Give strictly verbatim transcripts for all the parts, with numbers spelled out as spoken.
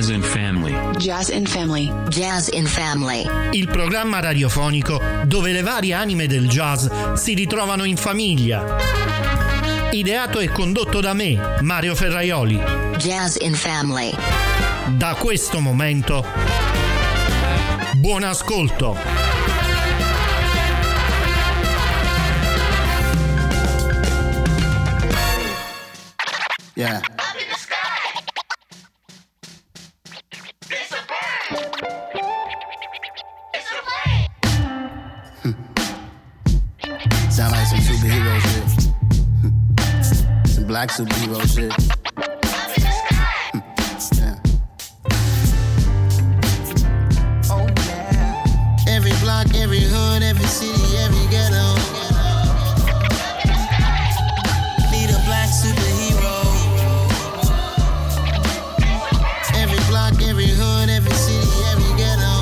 Jazz in Family. Jazz in Family. Jazz in Family. Il programma radiofonico dove le varie anime del jazz si ritrovano in famiglia. Ideato e condotto da me, Mario Ferraioli. Jazz in Family. Da questo momento, buon ascolto. Yeah. Sound like some superhero shit. Some black superhero shit. Yeah. Oh yeah. Every block, every hood, every city, every ghetto. Need a black superhero. Every block, every hood, every city, every ghetto.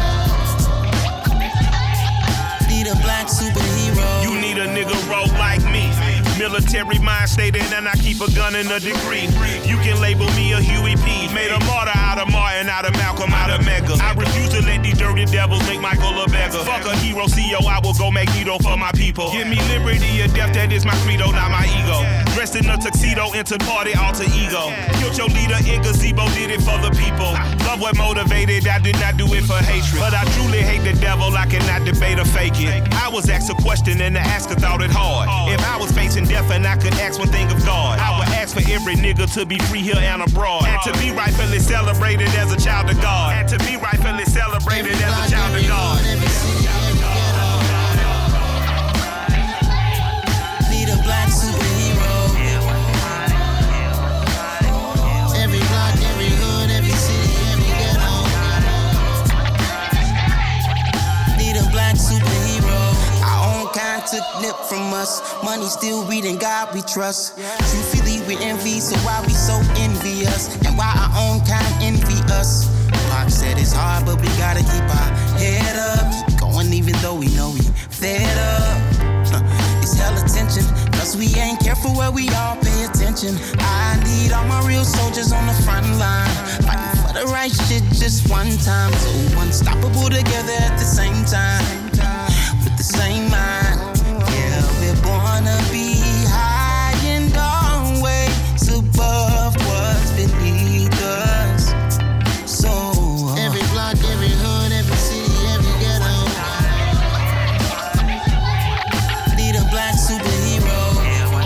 Need a black superhero. You need a nigga roll like me. Military mind stated, and I keep a gun in a degree. You can label me a Huey P. Made a martyr out of Martin, out of Malcolm, out of Mega. I refuse to let these dirty devils make Michael a beggar. Fuck a hero C E O, I will go Magneto for my people. Give me liberty or death, that is my credo, not my ego. Dressed in a tuxedo, into party, alter ego. Killed your leader in gazebo, did it for the people. Love what motivated, I did not do it for hatred. But I truly hate the devil, I cannot debate or fake it. I was asked a question and the asker thought it hard. If I was facing death and I could ask one thing of God, I would ask for every nigga to be free here and abroad, and to be rightfully celebrated as a child of God, and to be rightfully celebrated as a child of God. Need a black superhero. Every block, every hood, every city, every ghetto. Need a black superhero. Our own kind took nip from us. Money still reading God we trust. Truthfully we envy, so why we so envious? And why our own kind envy us? Pac said it's hard, but we gotta keep our head up. Keep going even though we know we fed up. It's hell attention, cause we ain't careful where we all pay attention. I need all my real soldiers on the front line, fighting for the right shit just one time. So unstoppable together at the same time, with the same mind. Yeah, we're born to be high and always above what's beneath us. So every block, every hood, every city, every ghetto. Need a black superhero.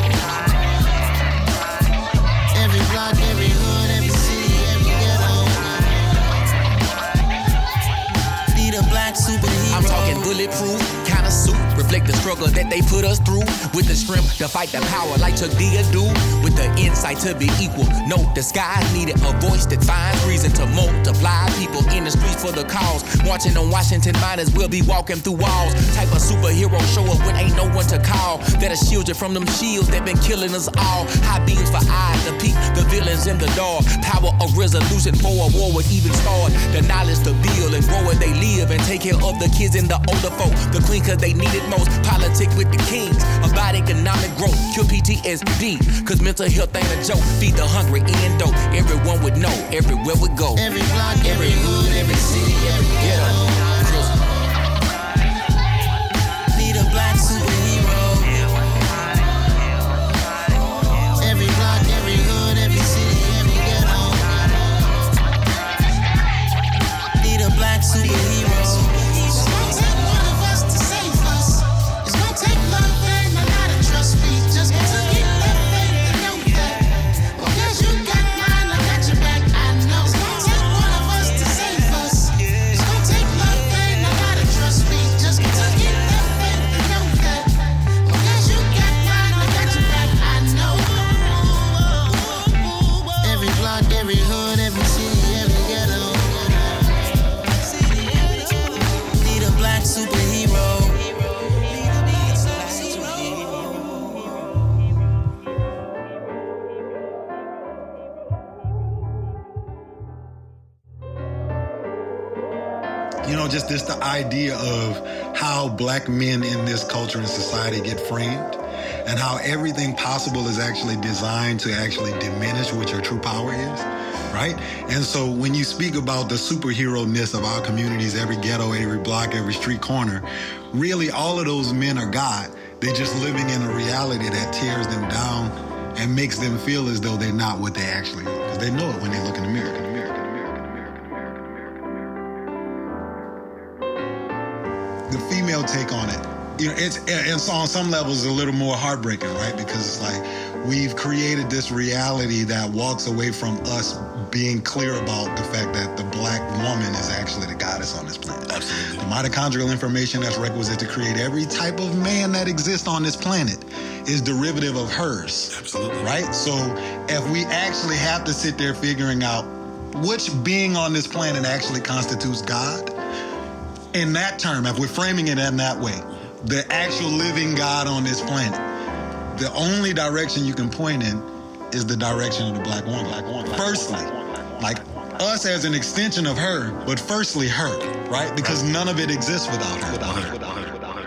Every block, every hood, every city, every ghetto. Need a black superhero. I'm talking bulletproof kind of suit, reflect the struggle that they put us through, with the strength to fight the power like Chuck D do, with the insight to be equal. No, the skies needed a voice that finds reason to multiply people in the streets for the cause. Marching on Washington, might as well be walking through walls. Type of superhero show up when ain't no one to call, that'll shield you from them shields that been killing us all. High beams for eyes to peek the villains in the dark. Power of resolution for a war would even start. The knowledge to build and grow where they live, and take care of the kids and the older folk. The queen cause they need it most. Politic with the kings, about economic growth. Cure P T S D, cause mental health ain't a joke. Feed the hungry and dope. Everyone would know, everywhere we go. Every block, every hood, every city, every ghetto. Need a black superhero. Every block, every hood, every city, every ghetto. Need a black superhero. You know, just this the idea of how black men in this culture and society get framed, and how everything possible is actually designed to actually diminish what your true power is. right? And so when you speak about the superhero-ness of our communities, every ghetto, every block, every street corner, really all of those men are God. They're just living in a reality that tears them down and makes them feel as though they're not what they actually are. Because they know it when they look in the mirror. The female take on it, you know, it's, it's on some levels a little more heartbreaking, right? Because it's like we've created this reality that walks away from us being clear about the fact that the black woman is actually the goddess on this planet. Absolutely. The mitochondrial information that's requisite to create every type of man that exists on this planet is derivative of hers. Absolutely. Right? So if we actually have to sit there figuring out which being on this planet actually constitutes God, in that term, if we're framing it in that way, the actual living God on this planet, the only direction you can point in is the direction of the black woman. Black woman. Firstly, like us as an extension of her, but firstly her, right? Because none of it exists without her. Without her. Without her.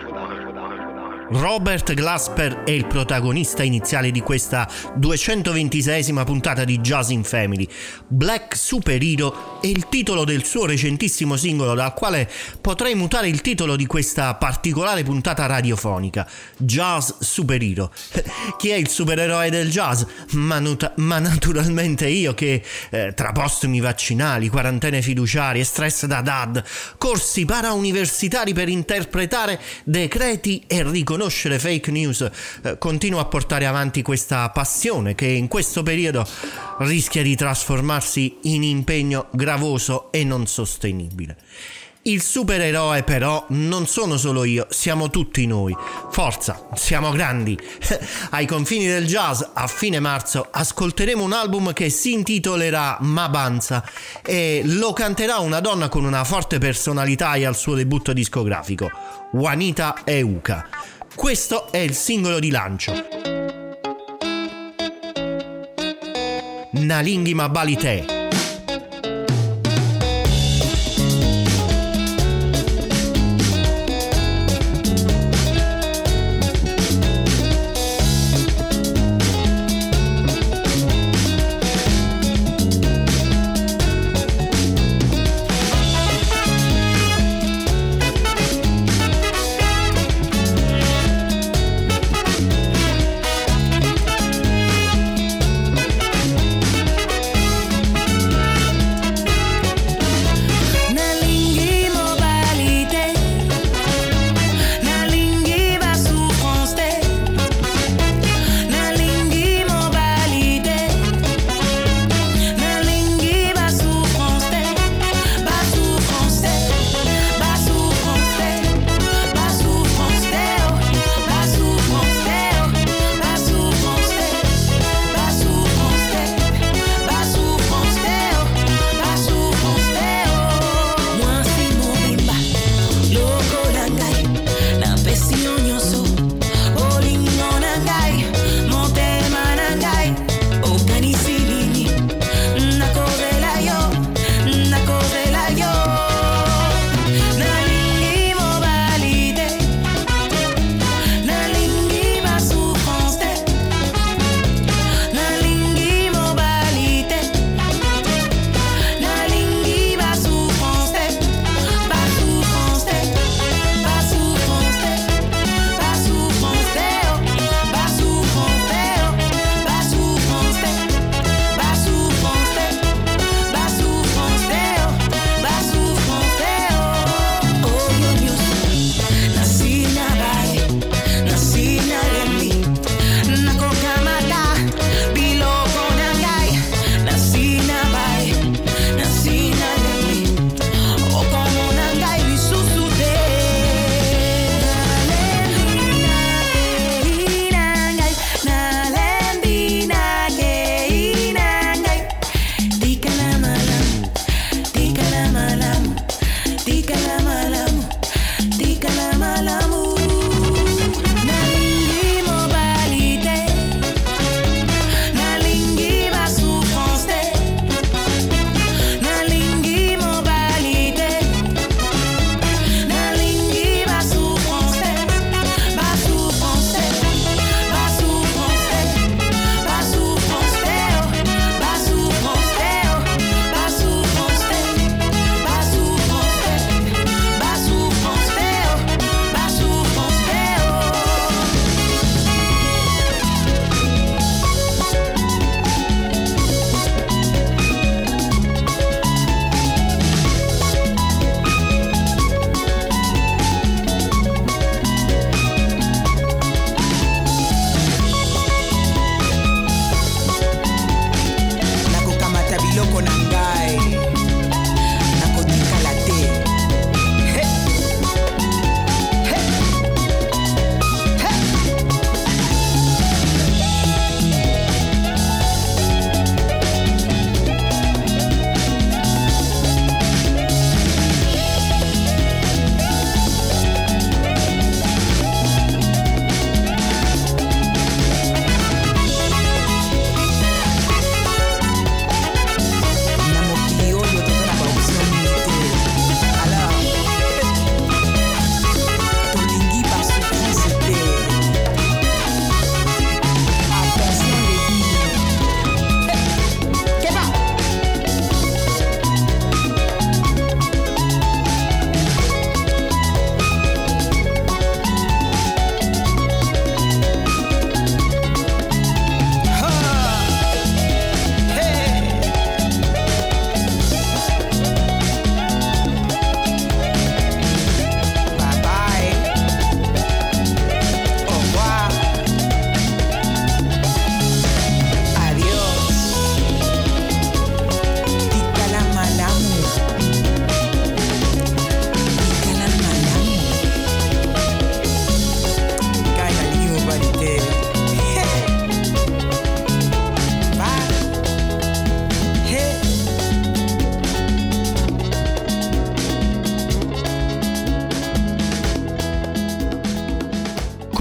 Robert Glasper è il protagonista iniziale di questa duecentoventiseiesima puntata di Jazz in Family. Black Superhero è il titolo del suo recentissimo singolo, dal quale potrei mutare il titolo di questa particolare puntata radiofonica, Jazz Superhero. Chi è il supereroe del jazz? Ma, nota- ma naturalmente io che eh, tra postumi vaccinali, quarantene fiduciarie, stress da dad, corsi parauniversitari per interpretare decreti e riconoscere conoscere fake news, eh, continuo a portare avanti questa passione che in questo periodo rischia di trasformarsi in impegno gravoso e non sostenibile. Il supereroe però non sono solo io, siamo tutti noi. Forza, siamo grandi. Ai confini del jazz, a fine marzo, ascolteremo un album che si intitolerà Mabanza e lo canterà una donna con una forte personalità e al suo debutto discografico, Juanita Euca. Questo è il singolo di lancio. Nalinghi Mabalite.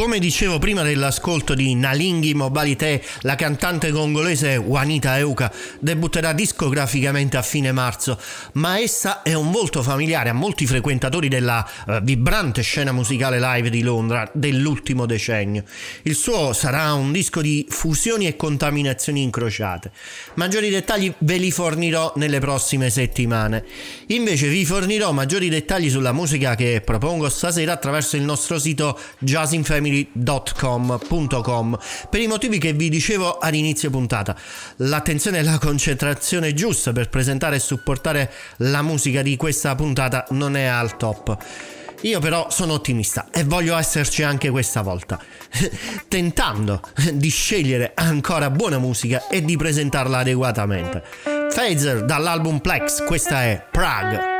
Come dicevo prima dell'ascolto di Nalinghi Mobilité, la cantante congolese Juanita Euka debutterà discograficamente a fine marzo, ma essa è un volto familiare a molti frequentatori della uh, vibrante scena musicale live di Londra dell'ultimo decennio. Il suo sarà un disco di fusioni e contaminazioni incrociate. Maggiori dettagli ve li fornirò nelle prossime settimane. Invece vi fornirò maggiori dettagli sulla musica che propongo stasera attraverso il nostro sito jazz in family punto com per i motivi che vi dicevo all'inizio puntata. L'attenzione e la concentrazione giusta per presentare e supportare la musica di questa puntata non è al top. Io però sono ottimista e voglio esserci anche questa volta, tentando di scegliere ancora buona musica e di presentarla adeguatamente. Phaser dall'album Plex, questa è Prague.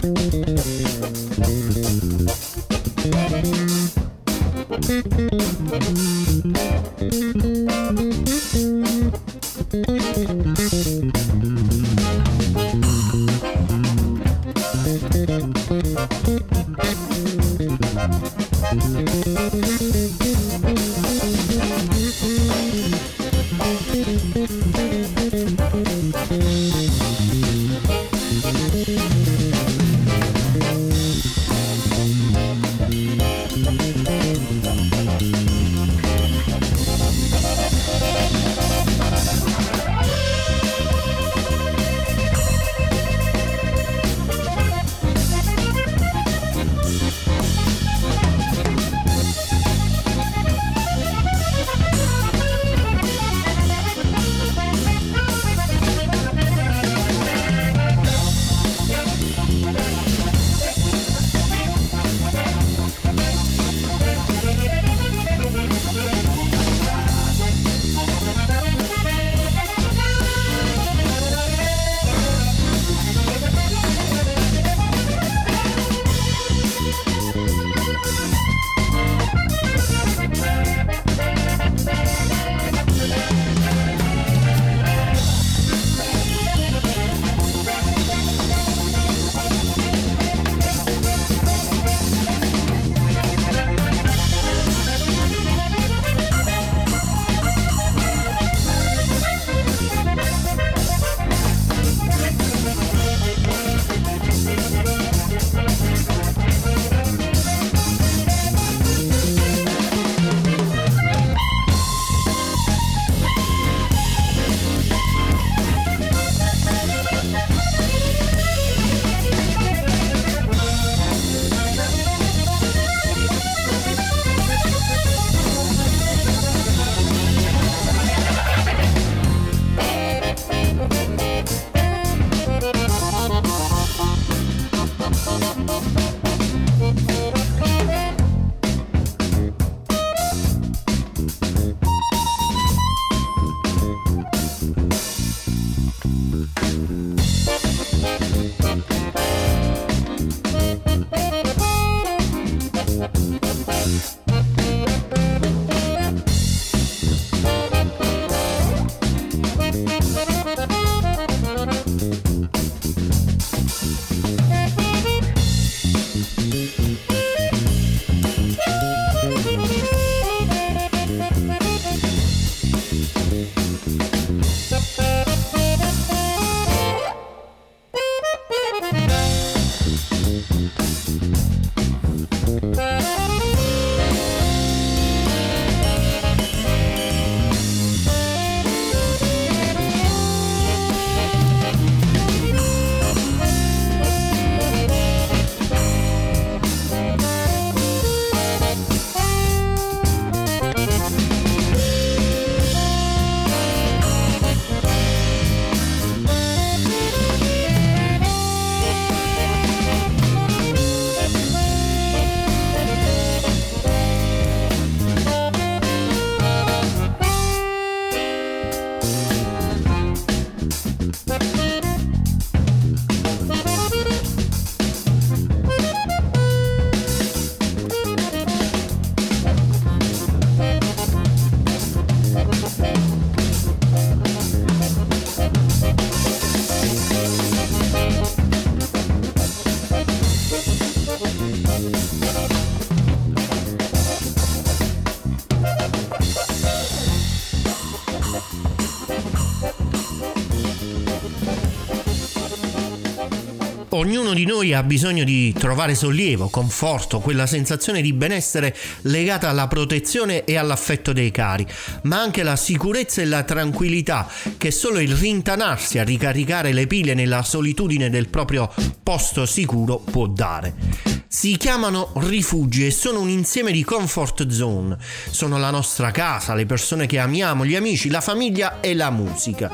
Ognuno di noi ha bisogno di trovare sollievo, conforto, quella sensazione di benessere legata alla protezione e all'affetto dei cari, ma anche la sicurezza e la tranquillità che solo il rintanarsi a ricaricare le pile nella solitudine del proprio posto sicuro può dare. Si chiamano rifugi e sono un insieme di comfort zone. Sono la nostra casa, le persone che amiamo, gli amici, la famiglia e la musica.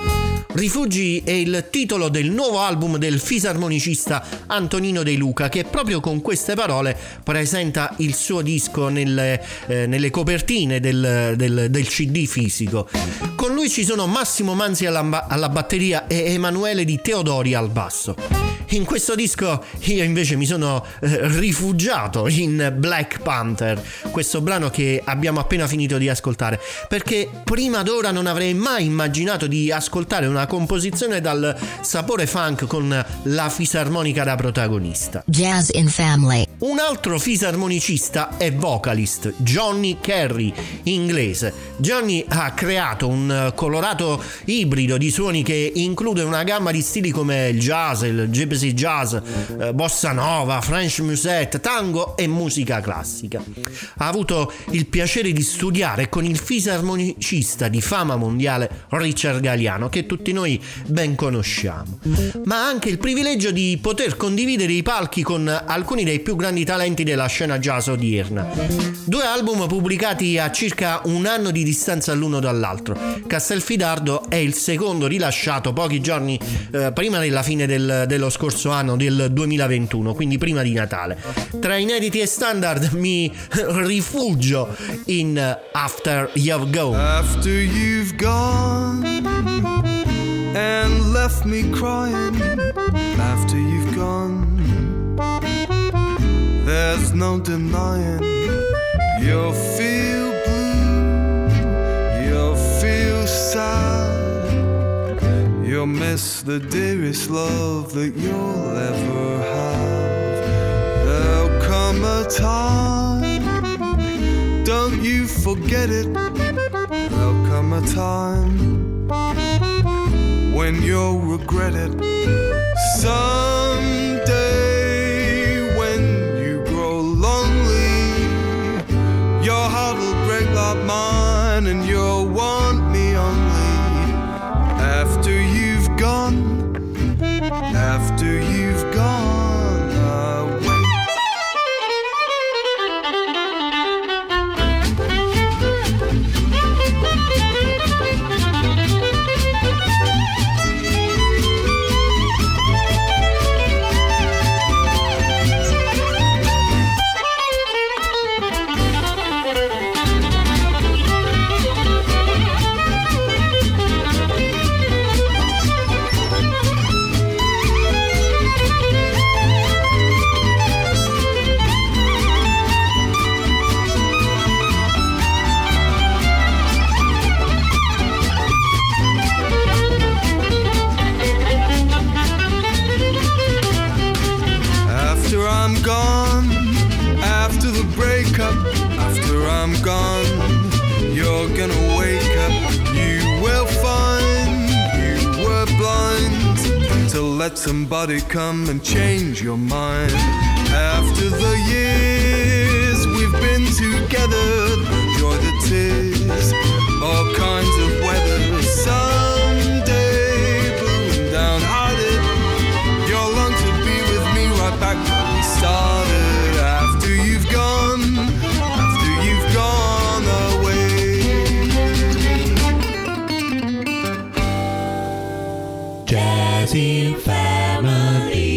Rifugi è il titolo del nuovo album del fisarmonicista Antonino De Luca, che proprio con queste parole presenta il suo disco nelle, eh, nelle copertine del, del, del C D fisico. Con lui ci sono Massimo Manzi alla, alla batteria e Emanuele Di Teodori al basso. in questo disco io invece mi sono eh, rifugiato in Black Panther, questo brano che abbiamo appena finito di ascoltare, perché prima d'ora non avrei mai immaginato di ascoltare una composizione dal sapore funk con la fisarmonica da protagonista. Jazz in Family. Un altro fisarmonicista e vocalist, Johnny Kerry, inglese. Johnny ha creato un colorato ibrido di suoni che include una gamma di stili come il jazz, il gypsy jazz, eh, bossa nova, French musette, tango e musica classica. Ha avuto il piacere di studiare con il fisarmonicista di fama mondiale Richard Galliano, che tutti noi ben conosciamo, ma ha anche il privilegio di poter condividere i palchi con alcuni dei più grandi talenti della scena jazz odierna. Due album pubblicati a circa un anno di distanza l'uno dall'altro. Castelfidardo è il secondo, rilasciato pochi giorni eh, prima della fine del, dello scorso anno, del duemilaventuno, quindi prima di Natale. Tra inediti e standard mi rifugio in After You've Gone. After you've gone and left me crying, after you've gone, there's no denying you'll feel blue, you'll feel sad, you'll miss the dearest love that you'll ever have. There'll come a time, don't you forget it, there'll come a time when you'll regret it. Someday when you grow lonely, your heart will break like mine and you'll want me only. After you've gone, after you've gone away. Let somebody come and change your mind. After the years we've been together, enjoy the tears, all kinds of weather. Someday, boom, downhearted, you'll long to be with me right back where we started. After you've gone, after you've gone away. Jazzy Family.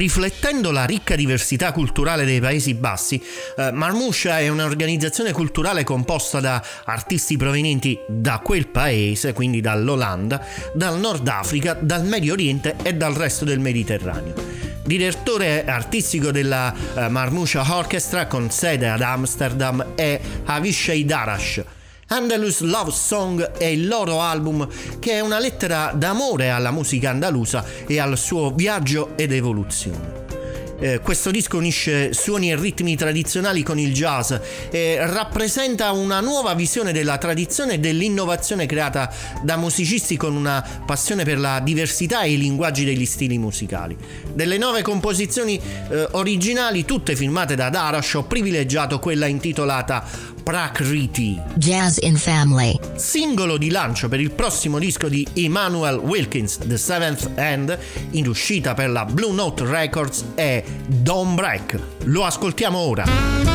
riflettendo la ricca diversità culturale dei Paesi Bassi, eh, Marmouche è un'organizzazione culturale composta da artisti provenienti da quel paese, quindi dall'Olanda, dal Nord Africa, dal Medio Oriente e dal resto del Mediterraneo. Direttore artistico della uh, Marmouche Orchestra con sede ad Amsterdam è Avishai Darash. Andalus Love Song è il loro album, che è una lettera d'amore alla musica andalusa e al suo viaggio ed evoluzione. Eh, questo disco unisce suoni e ritmi tradizionali con il jazz e rappresenta una nuova visione della tradizione e dell'innovazione creata da musicisti con una passione per la diversità e i linguaggi degli stili musicali. Delle nove composizioni eh, originali, tutte firmate da Darash, ho privilegiato quella intitolata Prakriti. Jazz in Family. Singolo di lancio per il prossimo disco di Emmanuel Wilkins, The Seventh Hand, in uscita per la Blue Note Records, è Don't Break. Lo ascoltiamo ora.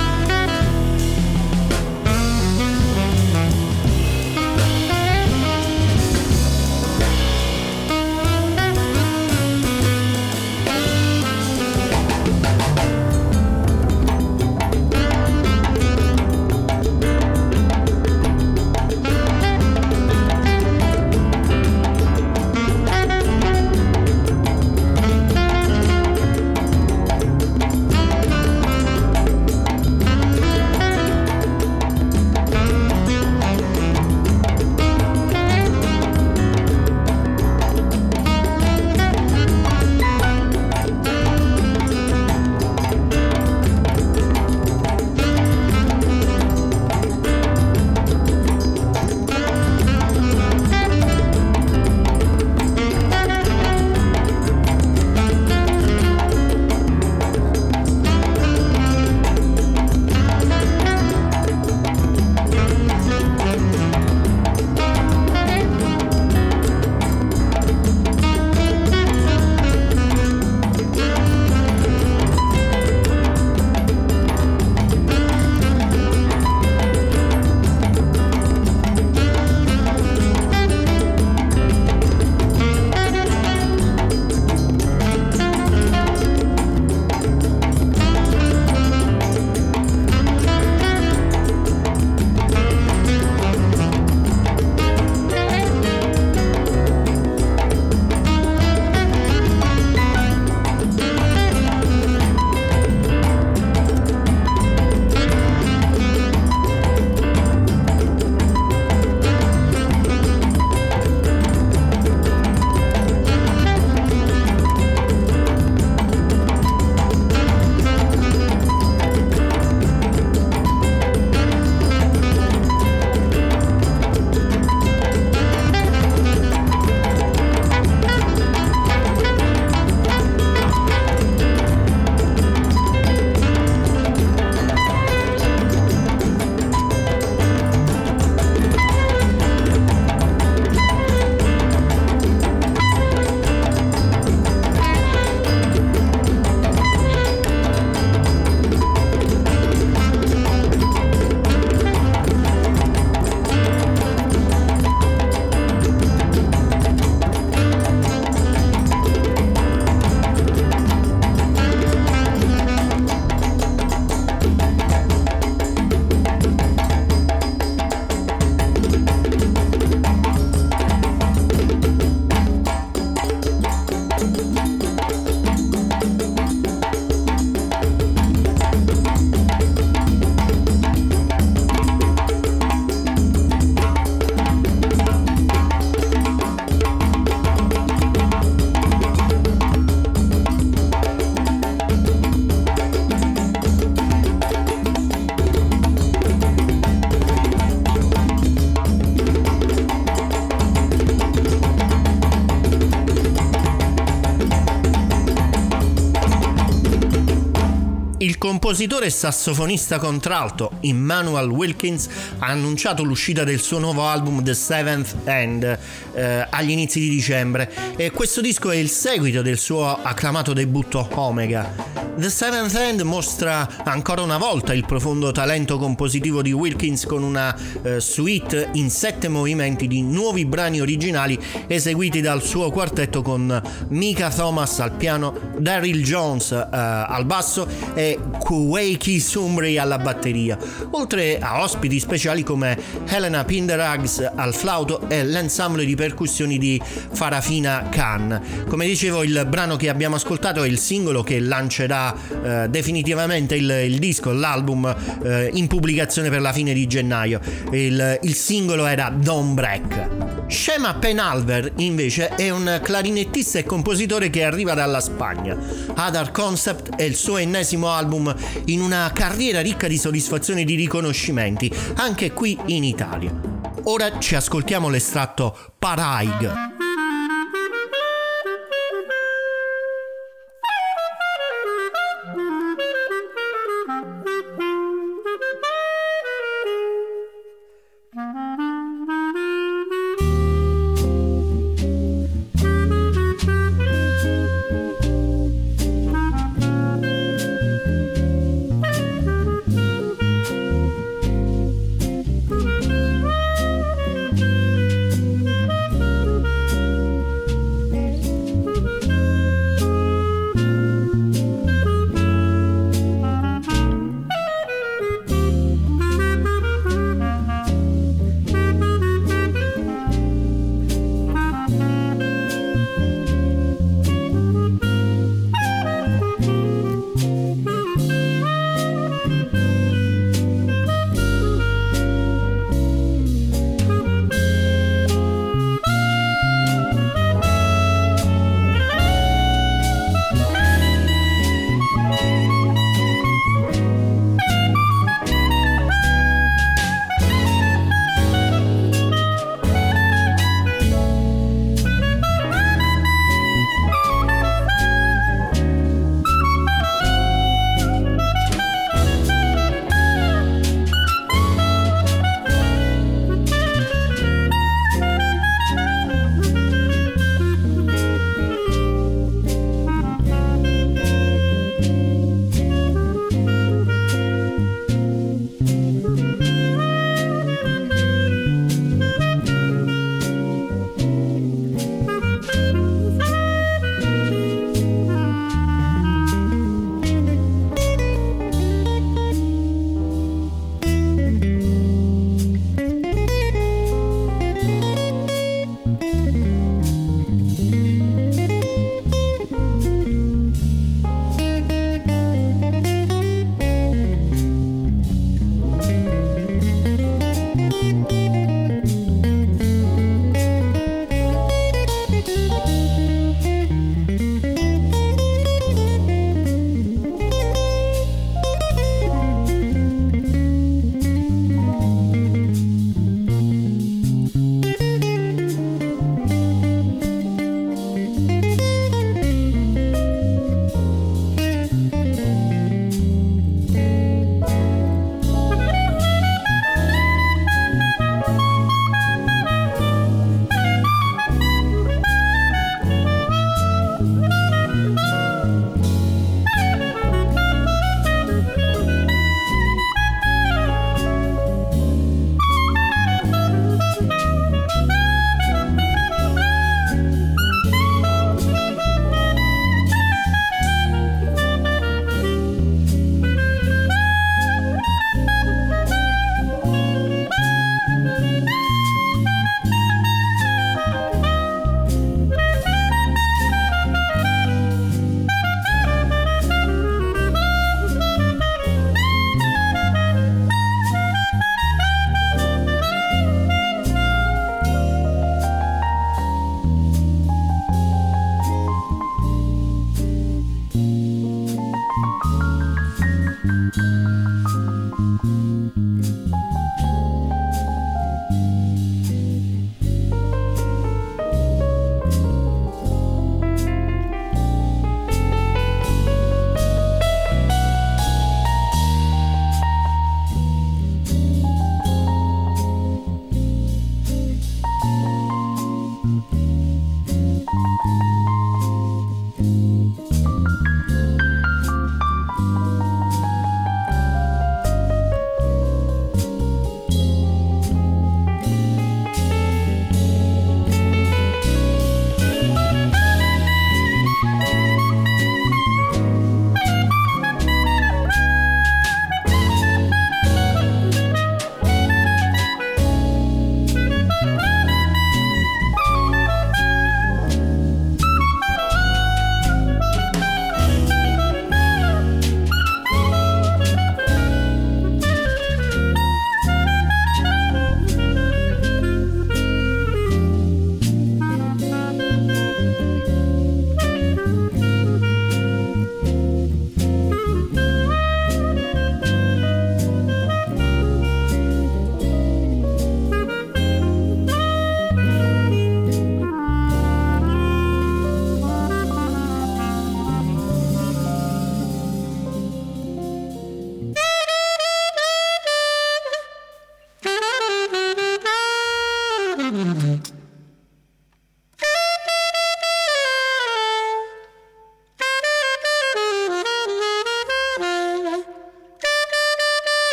Il compositore e sassofonista contralto Immanuel Wilkins ha annunciato l'uscita del suo nuovo album The Seventh End eh, agli inizi di dicembre, e questo disco è il seguito del suo acclamato debutto Omega. The Seventh End mostra ancora una volta il profondo talento compositivo di Wilkins, con una eh, suite in sette movimenti di nuovi brani originali eseguiti dal suo quartetto, con Micah Thomas al piano, Daryl Jones eh, al basso e Kuwaiki Sumbri alla batteria, oltre a ospiti speciali come Helena Pinderagh al flauto e l'ensemble di percussioni di Farafina Khan. Come dicevo, il brano che abbiamo ascoltato è il singolo che lancerà eh, definitivamente il, il disco, l'album eh, in pubblicazione per la fine di gennaio. Il, il singolo era Don't Break. Shema Penalver invece è un clarinettista e compositore che arriva dalla Spagna. Other Concept è il suo ennesimo album in una carriera ricca di soddisfazioni e di riconoscimenti, anche qui in Italia. Ora ci ascoltiamo l'estratto Paraig.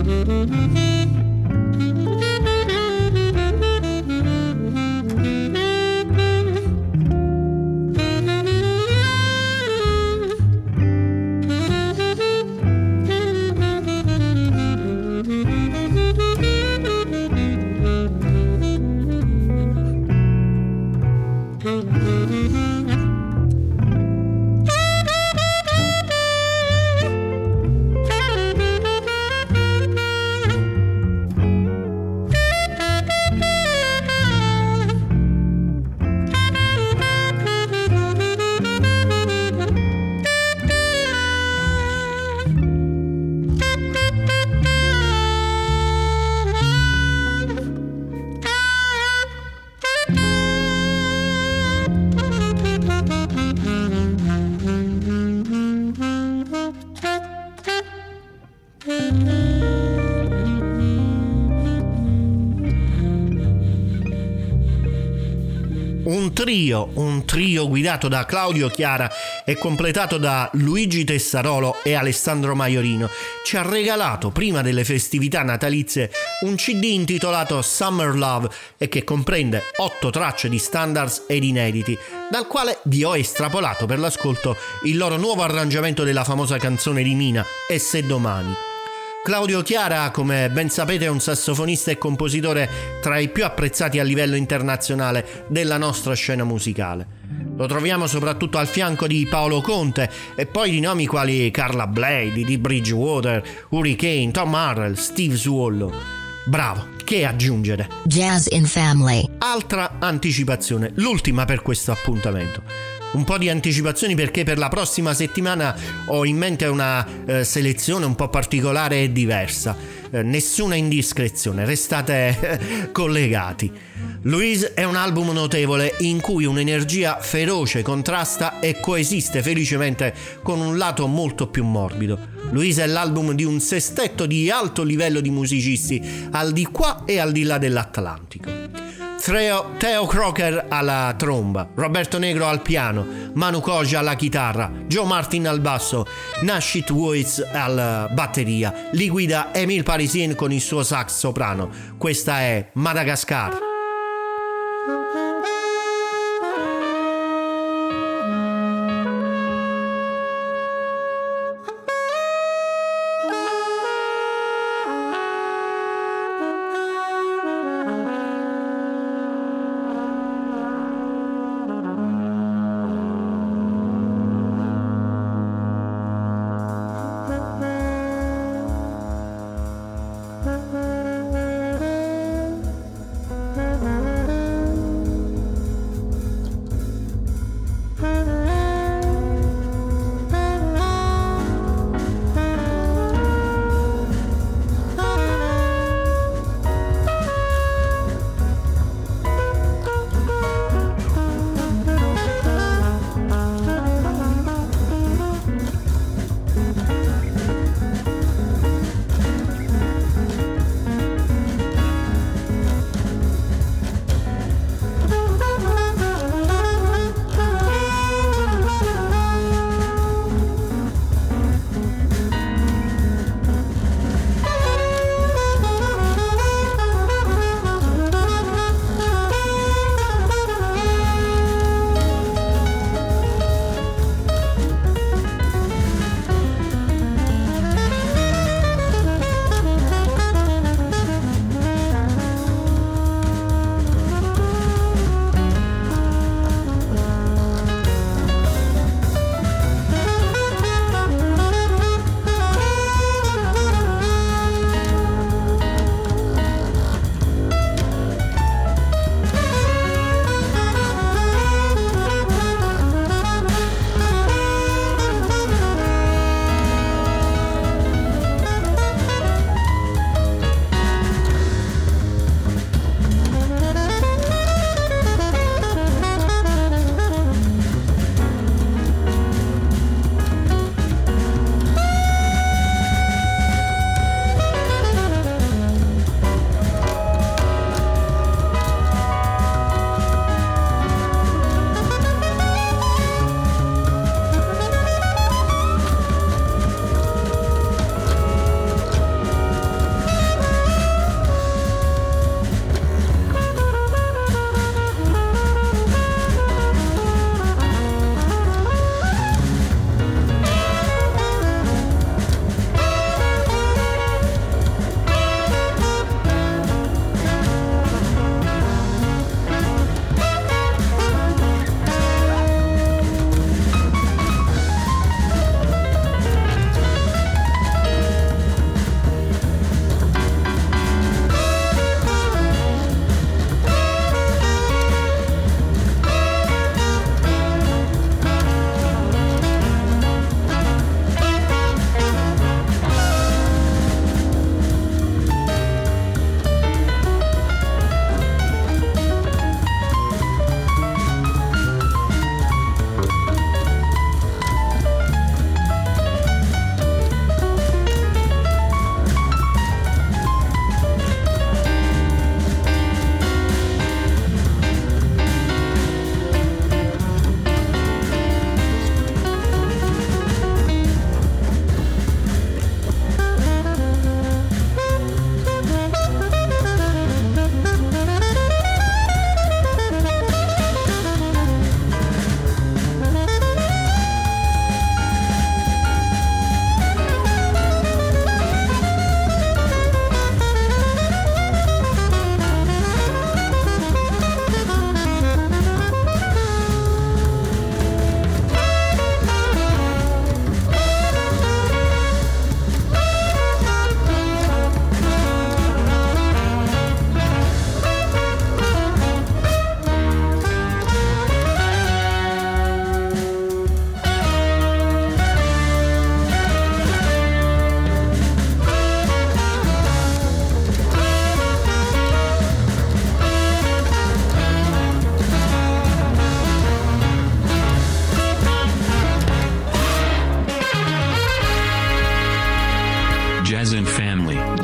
Un trio, un trio guidato da Claudio Chiara e completato da Luigi Tessarolo e Alessandro Maiorino, ci ha regalato prima delle festività natalizie un C D intitolato Summer Love e che comprende otto tracce di standards ed inediti, dal quale vi ho estrapolato per l'ascolto il loro nuovo arrangiamento della famosa canzone di Mina, E se domani. Claudio Chiara, come ben sapete, è un sassofonista e compositore tra i più apprezzati a livello internazionale della nostra scena musicale. Lo troviamo soprattutto al fianco di Paolo Conte e poi di nomi quali Carla Bley, Dee Bridgewater, Hurricane, Tom Harrell, Steve Swallow. Bravo, che aggiungere? Jazz in Family. Altra anticipazione, l'ultima per questo appuntamento. Un po' di anticipazioni perché per la prossima settimana ho in mente una eh, selezione un po' particolare e diversa. Eh, nessuna indiscrezione, restate eh, collegati. Louise è un album notevole in cui un'energia feroce contrasta e coesiste felicemente con un lato molto più morbido. Louise è l'album di un sestetto di alto livello di musicisti al di qua e al di là dell'Atlantico. Theo, Theo Crocker alla tromba, Roberto Negro al piano, Manu Koja alla chitarra, Joe Martin al basso, Nashit Woods alla batteria. Li guida Emile Parisien con il suo sax soprano. Questa è Madagascar.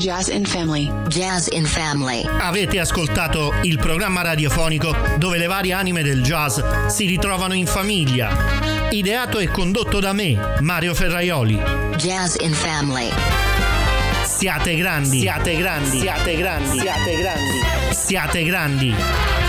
Jazz in Family. Jazz in Family. Avete ascoltato il programma radiofonico dove le varie anime del jazz si ritrovano in famiglia. Ideato e condotto da me, Mario Ferraioli. Jazz in Family. Siate grandi, siate grandi, siate grandi, siate grandi, siate grandi.